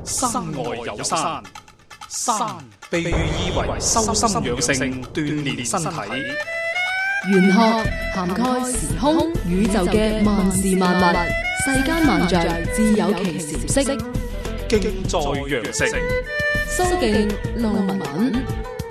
山外有山，山被寓意為修心養性、鍛煉身體。 玄學涵蓋時空宇宙嘅萬事萬物，世間萬象自有其時色。 敬在羊城， 蘇敬路文。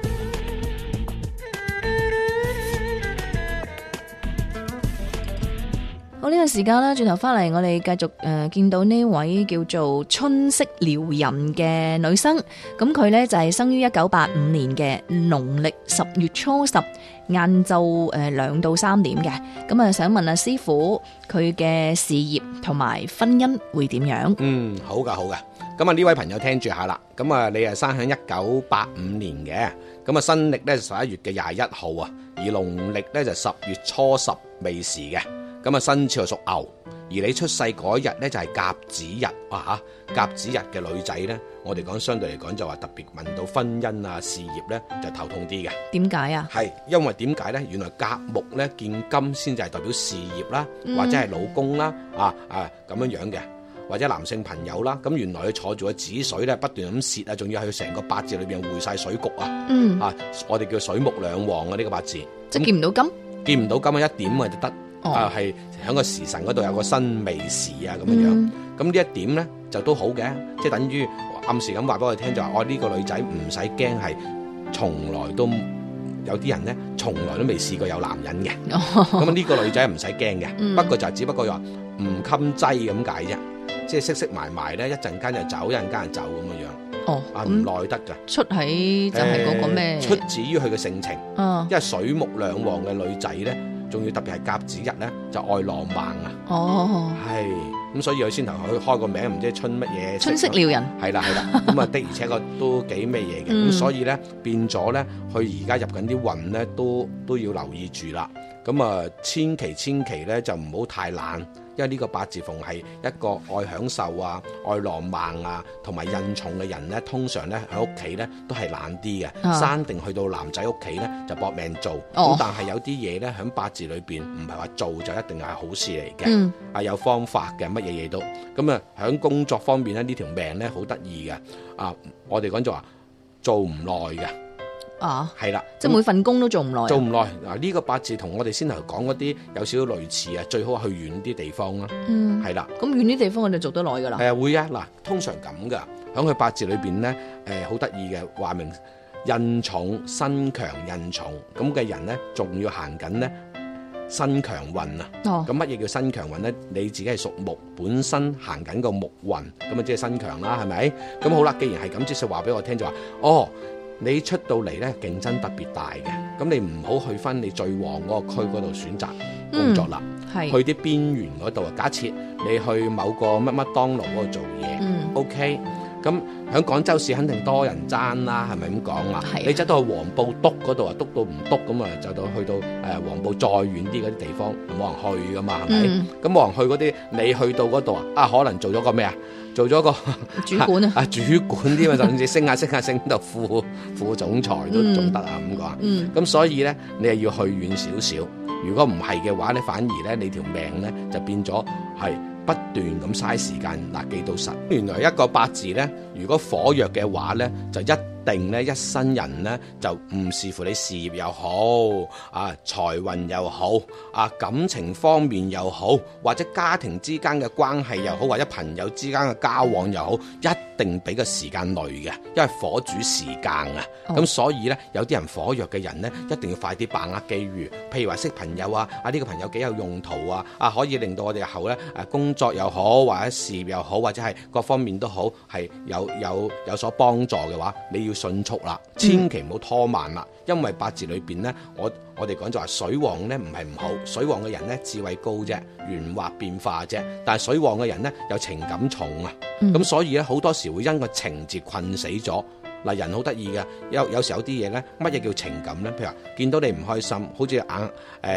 好，呢個時間啦，轉頭翻嚟，我哋繼續見到呢位叫做春色撩人嘅女生，咁佢呢就係生於1985年嘅農曆10月初10晏晝2到3點嘅，咁啊想問下師傅佢嘅事業同埋婚姻會點樣？ 好噶，咁啊呢位朋友聽住下啦，咁啊你係生喺1985年嘅，咁啊新曆呢11月嘅21號啊，而農曆呢就10月初10未時嘅。咁啊，生肖屬牛，而你出世嗰日咧就係甲子日啊吓，甲子日嘅女仔咧，我哋講相對嚟講就話特別問到婚姻啊、事業咧就頭痛啲嘅。 點解啊？ 係因為點解咧？原來甲木咧見金先至係代表事業啦，或者係老公啦，咁樣樣嘅，或者男性朋友啦。咁原來佢坐住個子水咧，不斷咁泄啊，仲要喺佢成個八字裏邊匯晒水局啊。我哋叫水木兩旺啊，呢個八字。 即係見唔到金， 見唔到金啊，一點啊就得。係喺個時辰嗰度有個辛未時啊，咁樣樣，咁呢一點咧就都好嘅，即係等於暗示咁話俾我哋聽，就話我呢個女仔唔使驚，係從來都有啲人咧從來都未試過有男人嘅，咁呢個女仔唔使驚嘅，不過就只不過話唔襟擠咁解啫，即係識埋咧，一陣間就走，一陣間就走咁樣樣，唔耐得噶。出喺就係嗰個咩？ 出自於佢嘅性情，因為水木兩旺嘅女仔咧。仲要特別係甲子日咧，就愛浪漫啊！係咁，所以佢先頭佢開個名，唔知春乜嘢？春色撩人。係啦，咁啊的而且確都幾咩嘢嘅，咁所以咧變咗咧，佢而家入緊啲運咧，都要留意住啦。咁啊，千祈咧就唔好太懶，因為呢個八字逢係一個愛享受啊、愛浪漫啊，同埋印重嘅人咧，通常咧喺屋企咧都係懶啲嘅，生定去到男仔屋企咧就搏命做。咁但係有啲嘢咧喺八字裏邊唔係話做就一定係好事嚟嘅，有方法嘅，乜嘢嘢都。咁啊喺工作方面咧，呢條命咧好得意嘅，我哋講就話做唔耐嘅。係啦， 即係每份工都做唔耐。 做唔耐嗱，呢個八字同我哋先頭講嗰啲有少少類似啊，最好去遠啲地方啦。係啦， 咁遠啲地方我哋做得耐噶啦。 係啊，會啊，嗱，通常咁噶，喺佢八字裏邊咧，好得意嘅，話明印重身強印重咁嘅人咧，仲要行緊咧身強運啊。咁乜嘢叫身強運咧？你自己係屬木，本身行緊個木運，咁啊即係身強啦，係咪？咁好啦，既然係咁，即係話俾我聽就話，你出到嚟咧，競爭特別大嘅，咁你唔好去翻你最旺嗰個區嗰度選擇工作啦，去啲邊緣嗰度啊。假設你去某個乜當勞嗰度做嘢，OK，咁喺廣州市肯定多人爭啦，係咪咁講啊？你走到去黃埔篤嗰度啊，篤到唔篤咁啊，就到去到黃埔再遠啲嗰啲地方，冇人去噶嘛，係咪？咁冇人去嗰啲，你去到嗰度啊，可能做咗個咩啊？做咗個主管主管啲嘛，甚至升升到副總裁都仲得啊，咁講。咁所以咧，你係要去遠少少。如果唔係嘅話咧，反而咧你條命咧就變咗係不斷咁嘥時間。嗱，記到實。原來一個八字咧，如果火弱嘅話咧，就一定咧一生人咧就唔視乎你事業又好財運又好感情方面又好，或者家庭之間嘅關係又好，或者朋友之間嘅交往又好，一定俾個時間累嘅，因為火主時間啊。咁所以咧，有啲人火弱嘅人咧，一定要快啲把握機遇。譬如話識朋友呢個朋友幾有用途可以令到我哋日後咧工作又好，或者事業又好，或者係各方面都好，係有所幫助嘅話，你要迅速啦，千祈唔好拖慢啦，因為八字裏邊咧，我哋講就話水旺咧唔係唔好，水旺嘅人咧智慧高啫，圓滑變化啫，但係水旺嘅人咧有情感重啊，咁所以咧好多時會因個情節困死咗。嗱，人好得意嘅，有時有啲嘢咧，乜嘢叫情感咧？譬如話見到你唔開心，好似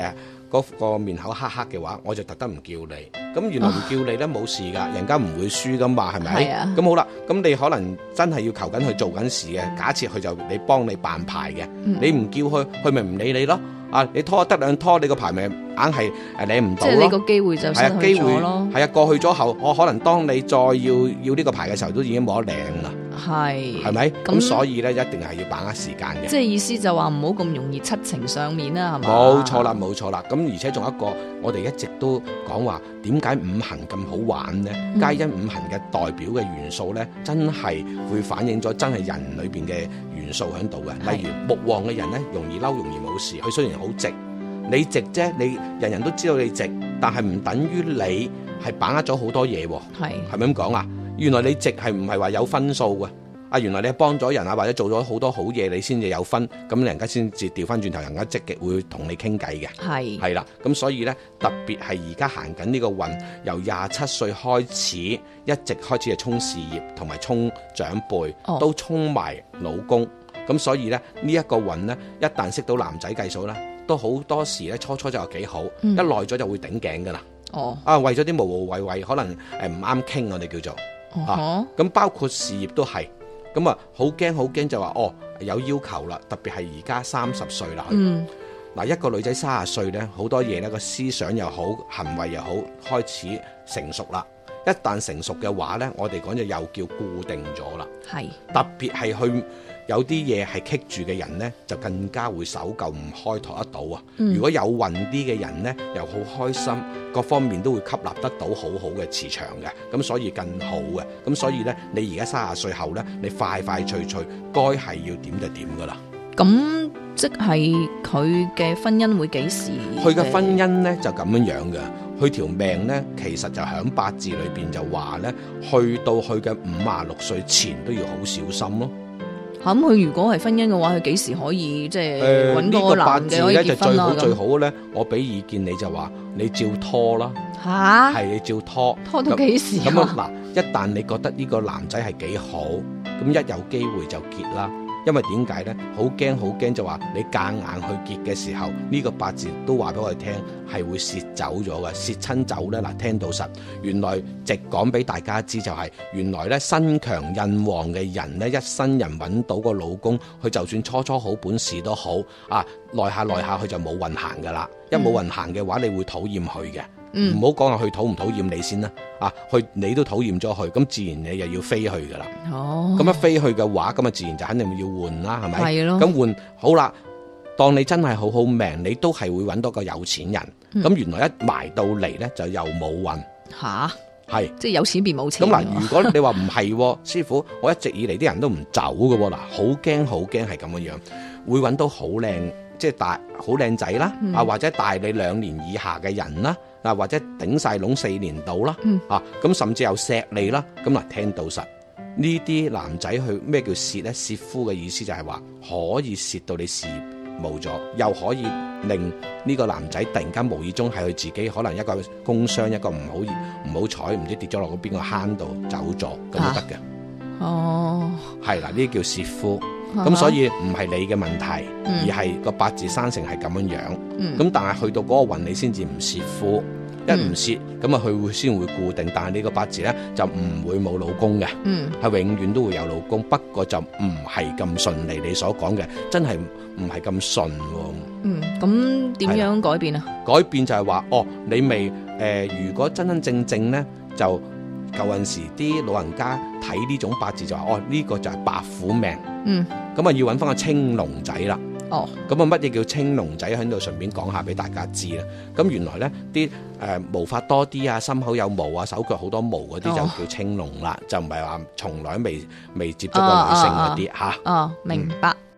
嗰個面口黑黑嘅話，我就特登唔叫你。咁原來唔叫你咧冇事㗎，人家唔會輸㗎嘛，係咪？ 係啊。 咁好啦，咁你可能真係要求緊佢做緊事嘅，假設佢就你幫你辦牌嘅，你唔叫佢，佢咪唔理你咯。啊，你拖得兩拖，你個牌咪硬係領唔到咯。 即係你個機會就失去咗咯。 係啊，過去咗後，我可能當你再要呢個牌嘅時候，都已經冇得領啦。 係咪？咁所以咧，一定係要把握時間嘅。 即係意思就話唔好咁容易七情上面啦，係嘛？ 冇錯啦，冇錯啦。咁而且仲有一個，我哋一直都講話點解五行咁好玩呢？皆因五行嘅代表嘅元素咧，真係會反映咗真係人裏邊嘅元素喺度嘅。例如木旺嘅人咧，容易嬲，容易冇事。佢雖然好直，你直啫，你人人都知道你直，但係唔等於你係把握咗好多嘢喎。係咪咁講啊？原來你直係唔係話有分數嘅？啊，原來你係幫咗人啊，或者做咗好多好嘢，你先至有分，咁人家先至調翻轉頭，人家積極會同你傾偈嘅。係啦，咁所以咧，特別係而家行緊呢個運，由27歲開始，一直開始係衝事業同埋衝長輩，都衝埋老公。咁所以咧，呢一個運咧，一旦識到男仔計數咧，都好多時咧，初就幾好，一耐咗就會頂頸噶啦。為咗啲無謂謂，可能唔啱傾，我哋叫做。咁包括事業都係，咁啊好驚就話有要求啦，特別係而家30歲啦。嗱，一個女仔30歲咧，好多嘢咧，個思想又好，行為又好，開始成熟啦。一旦成熟嘅話咧，我哋講就又叫固定咗啦。特別係去有啲嘢係棘住嘅人咧，就更加會守舊唔開拓得到啊。如果有運啲嘅人咧，又好開心，各方面都會吸納得到好好嘅磁場嘅，咁所以更好嘅。咁所以咧，你而家30歲後咧，你快脆該係要點就點噶啦。 咁即係佢嘅婚姻會幾時？ 佢嘅婚姻咧就咁樣嘅。佢條命咧，其實就喺八字裏邊就話咧，去到佢嘅56歲前都要好小心咯。 咁佢如果係婚姻嘅話，佢幾時可以即係揾個男嘅可以結婚啦？ 就最好咧，我俾意見你就話，你照拖啦。係你照拖到幾時啊？ 咁嗱，一旦你覺得呢個男仔係幾好，咁一有機會就結啦。因為點解咧？好驚就話你夾硬去結嘅時候，呢個八字都話俾我哋聽係會蝕走咗嘅，蝕親走咧。嗱，聽到實，原來直講俾大家知就係，原來咧身強印旺嘅人咧，一生人揾到個老公，佢就算初好本事都好啊，耐下佢就冇運行噶啦。一冇運行嘅話，你會討厭佢嘅。唔好講話佢討唔討厭你先啦，你都討厭咗佢，咁自然你又要飛去噶啦。咁一飛去嘅話，咁啊自然就肯定要換啦，係咪？係咯。咁換好啦，當你真係好命，你都係會揾到個有錢人。咁原來一埋到嚟咧，就又冇運。係即係有錢變冇錢。 咁嗱，如果你話唔係，師傅，我一直以嚟啲人都唔走嘅喎，嗱，好驚係咁樣，會揾到好靚，即係好靚仔啦，或者大你2年以下嘅人啦。或者頂晒籠4年到啦，咁甚至有錫你啦，咁嗱，聽到實呢啲男仔去咩叫蝕咧？蝕夫嘅意思就係話可以蝕到你事業冇咗，又可以令呢個男仔突然間無意中係佢自己可能一個工傷，一個唔好彩，唔知跌咗落邊個坑度走咗，咁都得嘅。係啦，呢啲叫蝕夫。咁所以唔係你嘅問題，而係個八字生成係咁樣樣。咁但係去到嗰個運，你先至唔蝕夫，一唔蝕咁啊，佢會先會固定。但係你個八字咧就唔會冇老公嘅，係永遠都會有老公。不過就唔係咁順利，你所講嘅真係唔係咁順。 咁點樣改變啊？ 改變就係話你未如果真正咧就。舊陣時啲老人家睇呢種八字就話呢個就係白虎命，咁啊要揾翻個青龍仔啦。咁啊乜嘢叫青龍仔？喺度順便講下俾大家知啦。咁原來咧啲毛髮多啲啊，心口有毛啊，手腳好多毛嗰啲就叫青龍啦，就唔係話從來未接觸過女性嗰啲吓。 明白。